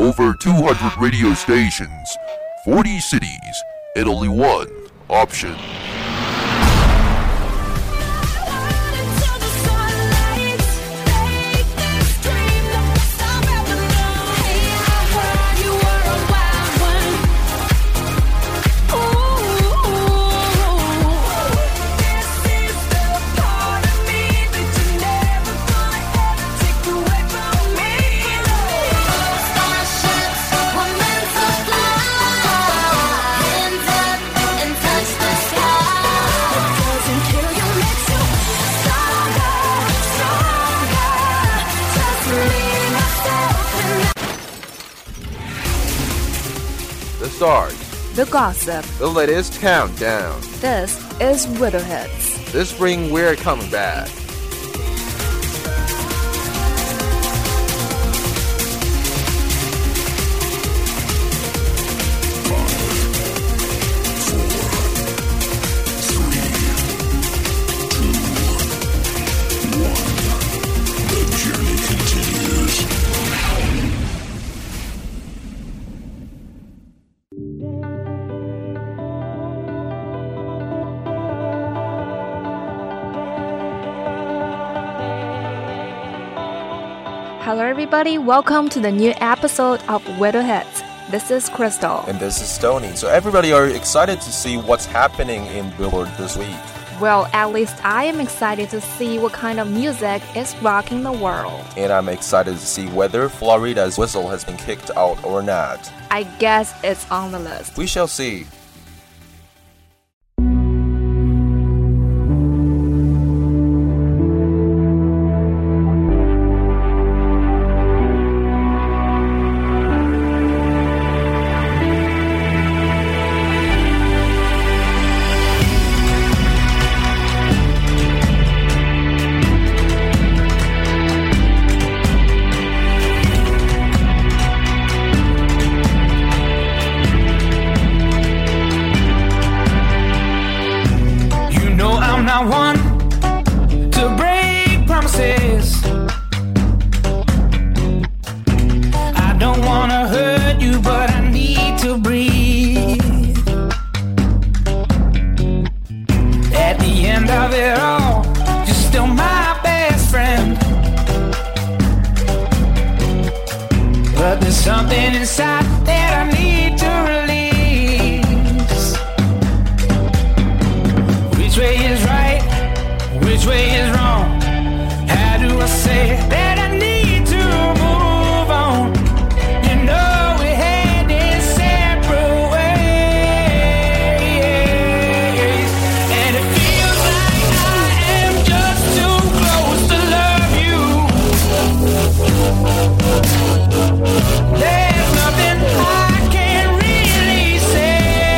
Over 200 radio stations, 40 cities, and only one option. The stars, the gossip, the latest countdown. This is Widow Hits. This spring we're coming back. Hello everybody, welcome to the new episode of Widow Hits. This is Crystal. And this is Stoney. So everybody are excited to see what's happening in Billboard this week. Well, at least I am excited to see what kind of music is rocking the world. And I'm excited to see whether Florida's whistle has been kicked out or not. I guess it's on the list. We shall see. One to break promises. I don't wanna hurt you, but I need to breathe. At the end of it all, you're still my best friend. But there's something inside that I need to release. Which way is right? Which way is wrong? How do I say that I need to move on? You know we headed separate ways, and it feels like I am just too close to love you. There's nothing I can really say.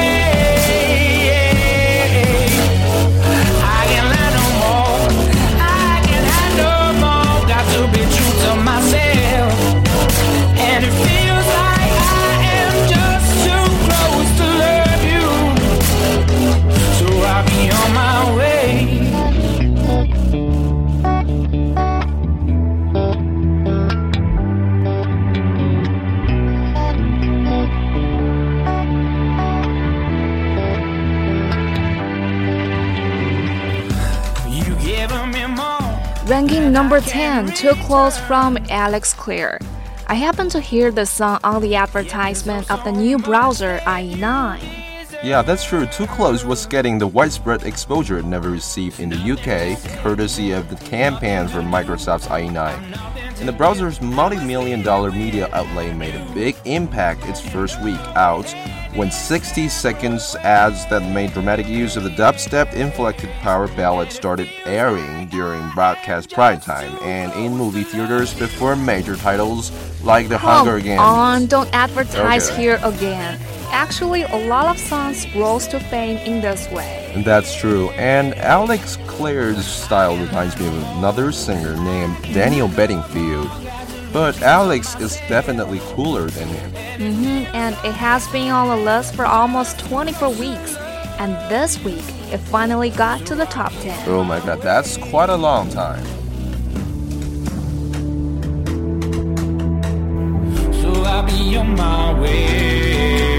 Ranking number 10, Too Close from Alex Clare. I happened to hear the song on the advertisement of the new browser IE9. Yeah, that's true. Too Close was getting the widespread exposure it never received in the UK, courtesy of the campaign for Microsoft's IE9. And the browser's multi-million-dollar media outlay made a big impact its first week out, when 60 seconds ads that made dramatic use of the dubstep-inflected power ballad started airing during broadcast prime time and in movie theaters before major titles like The Hunger Games. Come on, don't advertise here again. Actually, a lot of songs rose to fame in this way. And that's true. And Alex Clare's style reminds me of another singer named Daniel Bedingfield. But Alex is definitely cooler than him. And it has been on the list for almost 24 weeks. And this week, it finally got to the top 10. Oh my god, that's quite a long time. So I'll be be on my way.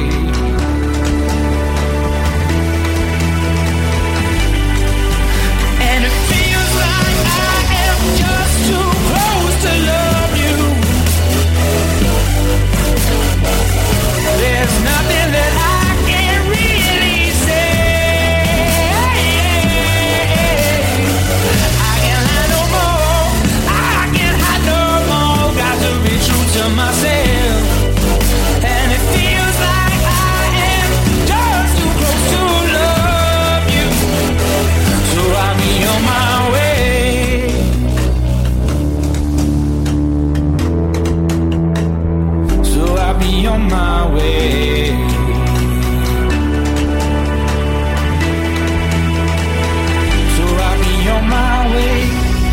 And it feels like I am just too close to love you. There's nothing that I can really say. I can't hide no more. I can't hide no more. Got to be true to myself. And it feels like I am just too close to love you. So I'll be on my way. So I'll be on my way. So I'll be on my way.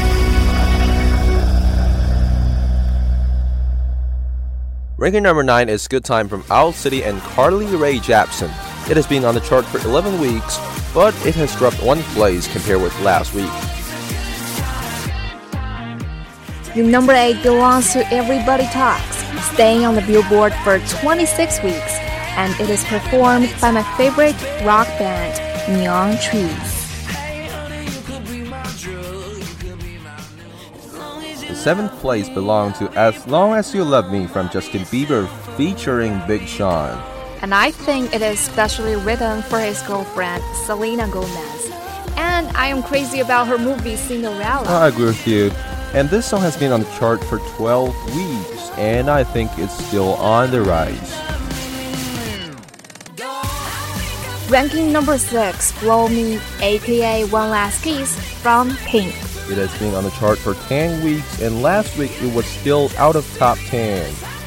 Ranking number 9 is Good Time from Owl City and Carly Rae Jepsen. It has been on the chart for 11 weeks, but it has dropped 1 place compared with last week. Your number 8 belongs to Everybody Talks, staying on the Billboard for 26 weeks, and it is performed by my favorite rock band, Neon Trees. The 7th place belonged to As Long As You Love Me from Justin Bieber featuring Big Sean. And I think it is specially written for his girlfriend, Selena Gomez. And I am crazy about her movie Cinderella. I agree with you. And this song has been on the chart for 12 weeks, and I think it's still on the rise. Ranking number 6, Blow Me, aka One Last Kiss from Pink. It has been on the chart for 10 weeks, and last week it was still out of top 10.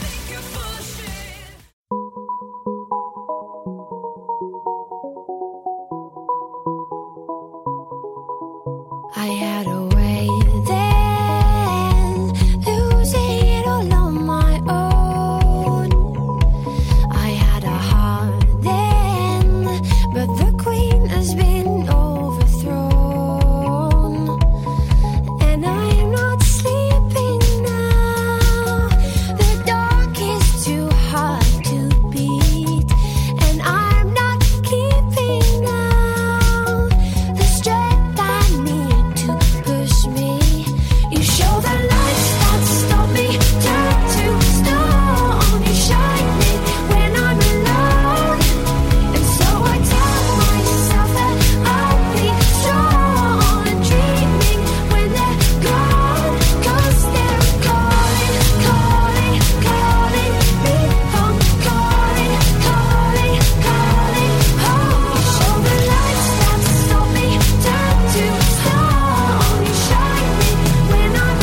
I had a way then, lose it all on my own. I had a heart then, but the queen has been overthrown. And I am not sleeping now. The dark is too hard to beat, and I'm not keeping now the strength I need to push me. You show the lights that stop me, turn to stone. You shine me when I'm alone, and so I tell myself that I'll be strong and dreaming when they're gone, 'cause they're calling, calling, calling me home, calling, calling, calling home. You show the lights that stop me, turn to stone. You shine me when I'm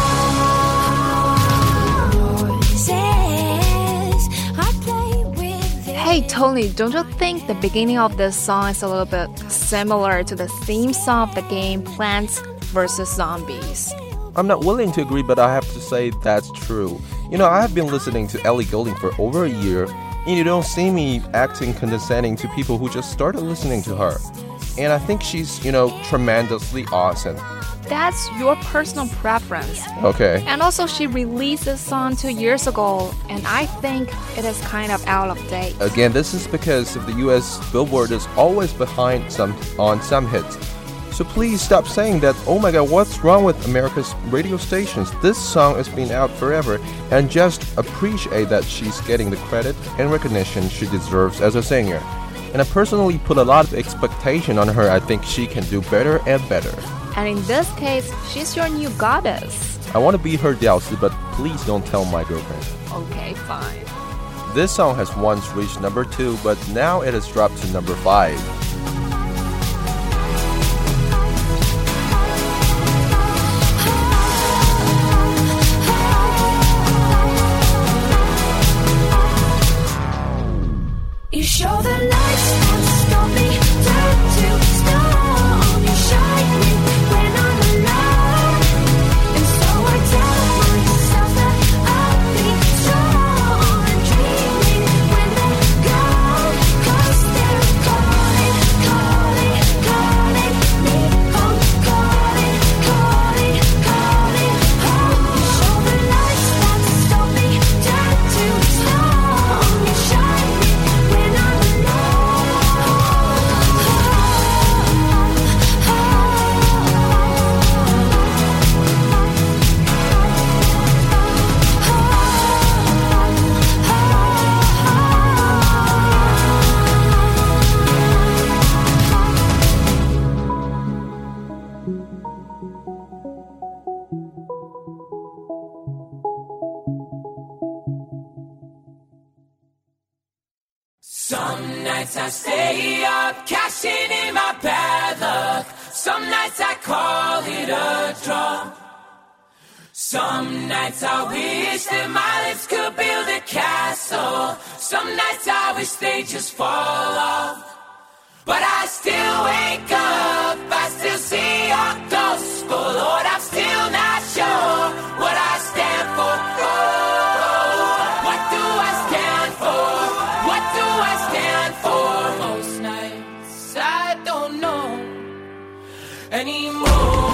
alone. Voices I play with. Hey Tony, don't you think the beginning of this song is a little bit similar to the theme song of the game Plants vs. Zombies? I'm not willing to agree, but I have to say that's true. You know, I have been listening to Ellie Goulding for over a year, and you don't see me acting condescending to people who just started listening to her. And I think she's, tremendously awesome. That's your personal preference. Okay. And also she released this song 2 years ago, and I think it is kind of out of date. Again, this is because of the US Billboard is always behind on some hits. So please stop saying that, oh my god, what's wrong with America's radio stations? This song has been out forever, and just appreciate that she's getting the credit and recognition she deserves as a singer. And I personally put a lot of expectation on her. I think she can do better and better. And in this case, she's your new goddess. I want to be her Delcy, but please don't tell my girlfriend. Okay, fine. This song has once reached number 2, but now it has dropped to number 5. You show the lights that stop me, turn to stone. You shine me when I'm alone, and so I tell myself that I'll be strong and dreaming when they're gone, 'cause they're calling, Some nights I stay up, cashing in my bad luck. Some nights I call it a draw. Some nights I wish that my lips could build a castle. Some nights I wish they just fall off. But I still wake up, I still see your gospel. Lord, I'm still not sure what I stand for. Oh, what do I stand for? What do I stand for? Most nights I don't know anymore.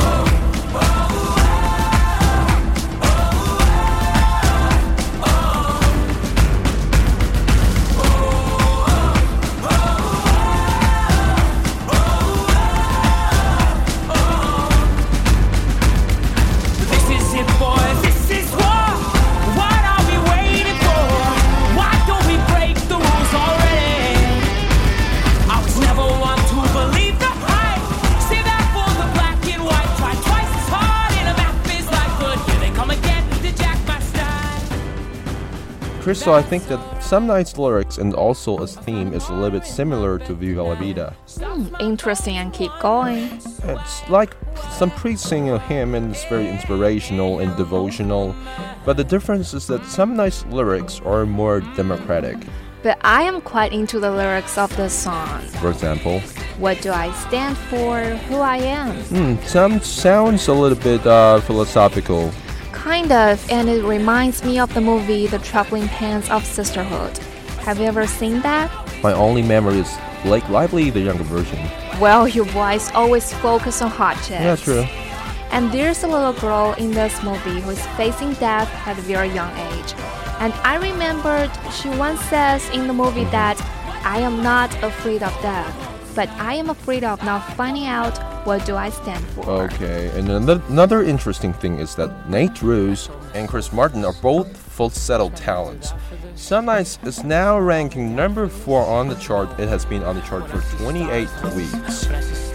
Crystal, I think that Some Nights' lyrics and also its theme is a little bit similar to Viva La Vida. Interesting, and keep going. It's like some priests sing a hymn and it's very inspirational and devotional, but the difference is that Some Nights' lyrics are more democratic. But I am quite into the lyrics of this song. For example, what do I stand for? Who I am? Sounds a little bit philosophical. Kind of, and it reminds me of the movie The Traveling Pants of Sisterhood. Have you ever seen that? My only memory is Blake Lively, the younger version. Well, your boys always focus on hot chicks. Yeah, true. And there's a little girl in this movie who is facing death at a very young age. And I remembered she once says in the movie that I am not afraid of death, but I am afraid of not finding out what do I stand for. Okay, and another interesting thing is that Nate Ruess and Chris Martin are both falsetto talents. Some Nights is now ranking number 4 on the chart. It has been on the chart for 28 weeks.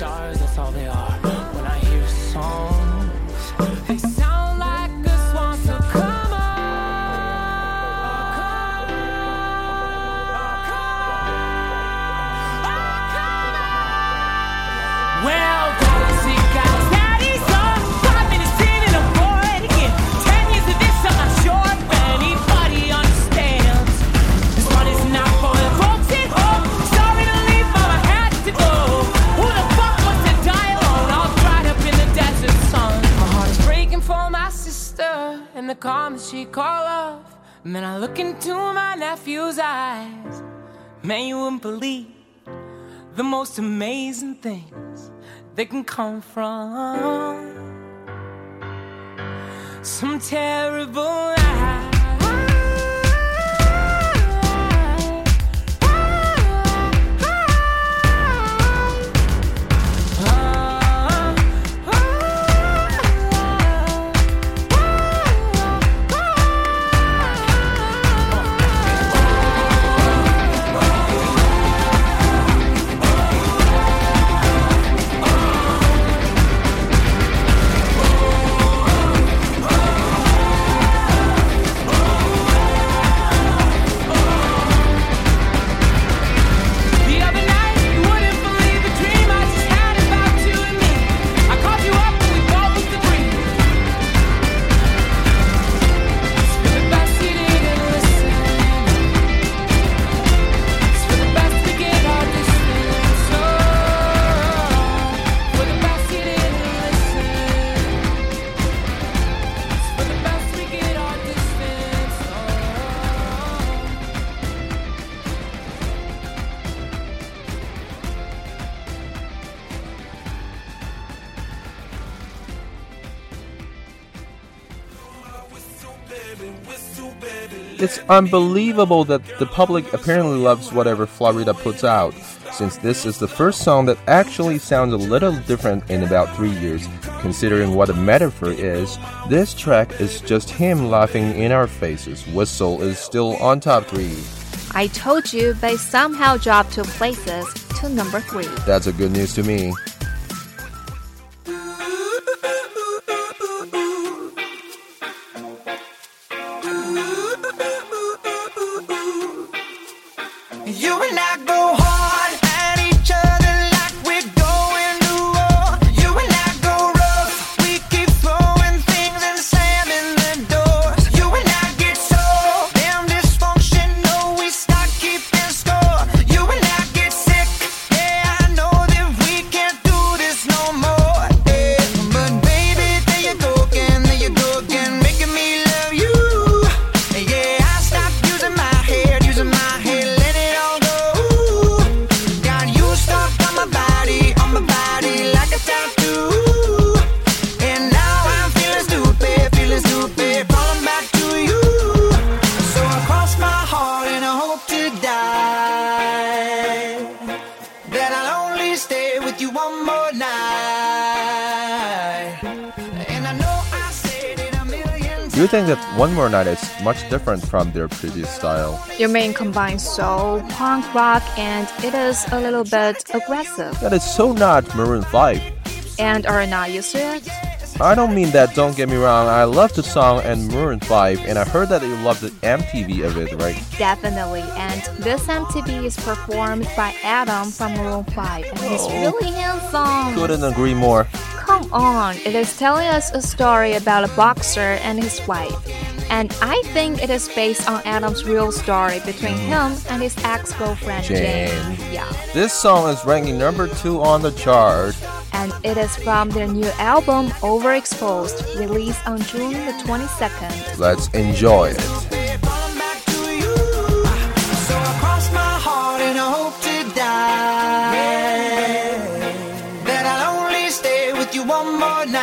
The comments she called off. Man, I look into my nephew's eyes. Man, you wouldn't believe the most amazing things that can come from some terrible lie. It's unbelievable that the public apparently loves whatever Florida puts out, since this is the first song that actually sounds a little different in about 3 years. Considering what a metaphor is, this track is just him laughing in our faces. Whistle is still on top 3. I told you, they somehow dropped 2 places to number 3. That's a good news to me. Do you think that One More Night is much different from their previous style? You mean combine soul, punk rock, and it is a little bit aggressive. That is so not Maroon 5. And are not used to it? I don't mean that, don't get me wrong. I love the song and Maroon 5, and I heard that you love the MTV of it, right? Definitely, and this MTV is performed by Adam from Maroon 5, and he's really handsome. Couldn't agree more. Come on, it is telling us a story about a boxer and his wife. And I think it is based on Adam's real story between him and his ex-girlfriend Jane. Yeah. This song is ranking number 2 on the chart. And it is from their new album Overexposed, released on June the 22nd. Let's enjoy it. One more night,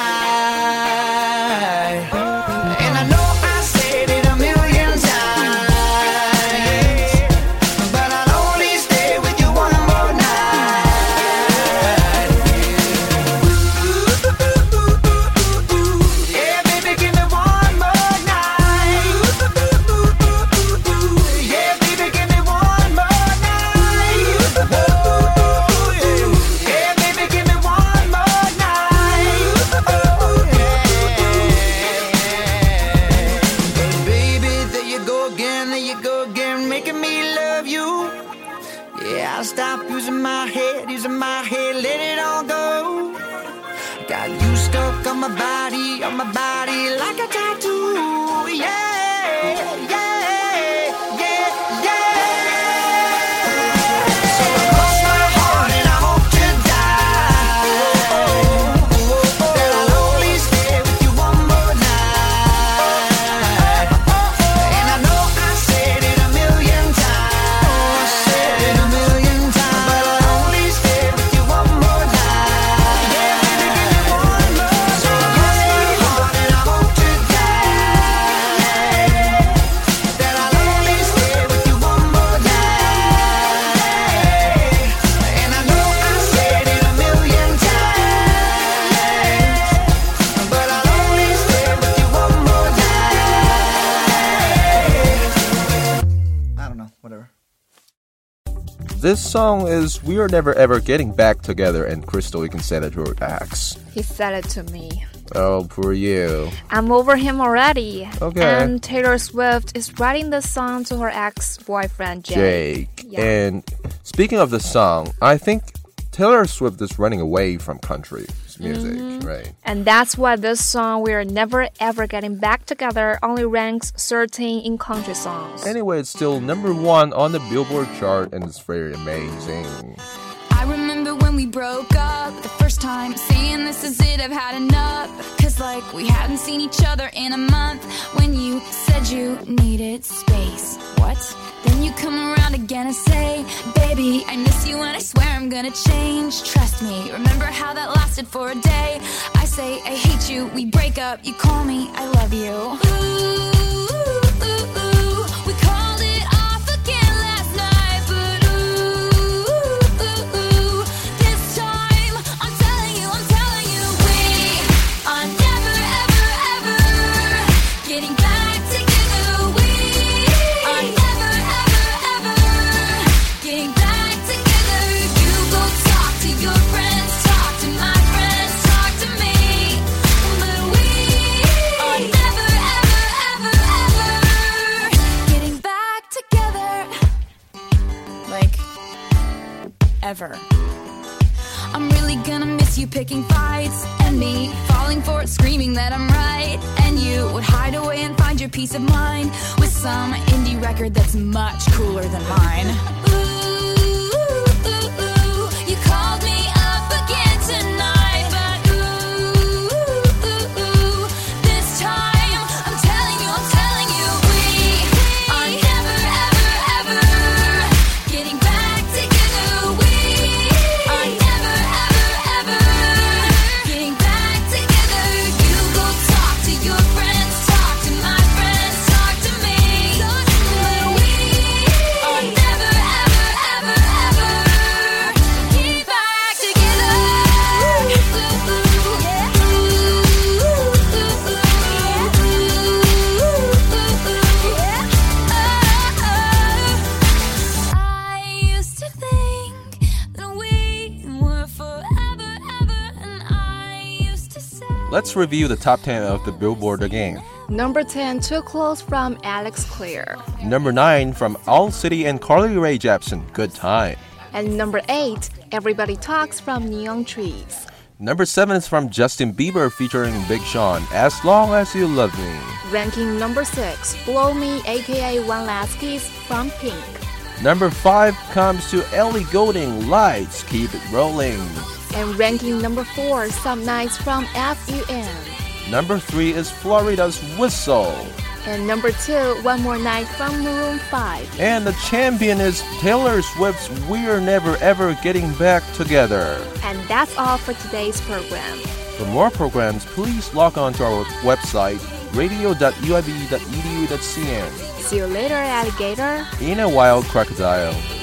and I know I said it a million times, but I'll only stay with you one more night. Yeah, baby, give me one more night. Yeah, baby, give me one more night. Yeah, baby, give me one more night. Making me love you. Yeah, I'll stop using my head, let it all go. Got you stuck on my body like a tattoo. Yeah, yeah, yeah, yeah. So cross my heart and I hope to die, that I'll only stay with you one more night. And I know I said it a million times, but I'll only stay with you one more night. Yeah, baby, give me one more. So cross my heart and I hope to die, that I'll only stay with you one more night. And I know I said it a million times, but I'll only stay with you one more night. I don't know, whatever. This song is We Are Never Ever Getting Back Together, and Crystal, you can say that to your ex. He said it to me. Oh, poor you. I'm over him already. Okay. And Taylor Swift is writing this song to her ex-boyfriend Jake. Yeah. And speaking of the song, I think Taylor Swift is running away from country music, right? And that's why this song, We Are Never Ever Getting Back Together, only ranks 13 in country songs. Anyway, it's still number 1 on the Billboard chart, and it's very amazing. I remember when we broke up the first time, saying this is it, I've had enough. Cause like we hadn't seen each other in a month. When you said you needed space. What? Then you come around again and say, baby, I miss you and I swear I'm gonna change. Trust me, remember how that lasted for a day. I say I hate you, we break up, you call me, I love you. Ooh, we called it off again last night, but this time I'm telling you, we are never ever ever getting back together. We are never ever ever getting back together. You go talk to your friends, talk to my friends, talk to me, but we are never ever ever ever getting back together. Like ever. I'm really gonna miss you picking fights, and me falling for it, screaming that I'm right. And you would hide away and find your peace of mind with some indie record that's much cooler than mine. Ooh, you called me up again tonight, but this time I'm telling you, we are never ever ever getting back together. We are never ever ever getting back together. You go talk to your friends, talk to my friends, talk to me, but we are never ever Let's review the top 10 of the Billboard again. Number 10, Too Close from Alex Clear. Number 9 from Owl City and Carly Rae Jepsen, Good Time. And number 8, Everybody Talks from Neon Trees. Number 7 is from Justin Bieber featuring Big Sean, As Long As You Love Me. Ranking number 6, Blow Me aka One Last Kiss from Pink. Number 5 comes to Ellie Goulding, Lights, Keep It Rolling. And ranking number 4, Some Nights from FUN. Number 3 is Florida's Whistle. And number 2, One More Night from Maroon 5. And the champion is Taylor Swift's We're Never Ever Getting Back Together. And that's all for today's program. For more programs, please log on to our website, radio.uib.edu.cn. See you later, alligator. In a wild crocodile.